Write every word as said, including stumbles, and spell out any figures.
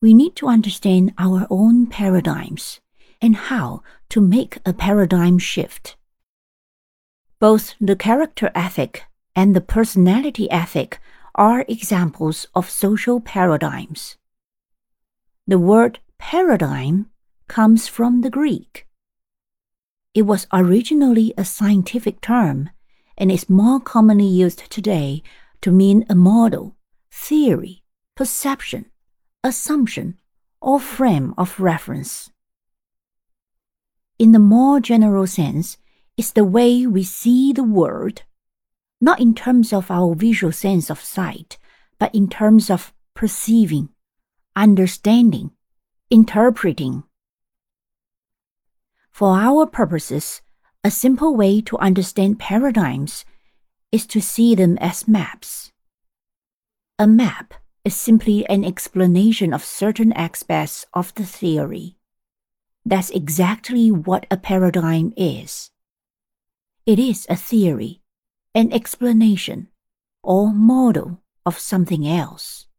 we need to understand our own paradigms and how to make a paradigm shift. Both the character ethic and the personality ethic are examples of social paradigms. The word paradigm comes from the Greek. It was originally a scientific term and is more commonly used today to mean a model, theory, perception, assumption, or frame of reference. In the more general sense, it's the way we see the world, not in terms of our visual sense of sight, but in terms of perceiving, understanding, interpreting. For our purposes, a simple way to understand paradigms is to see them as maps. A map is simply an explanation of certain aspects of the theory. That's exactly what a paradigm is. It is a theory, an explanation, or model of something else.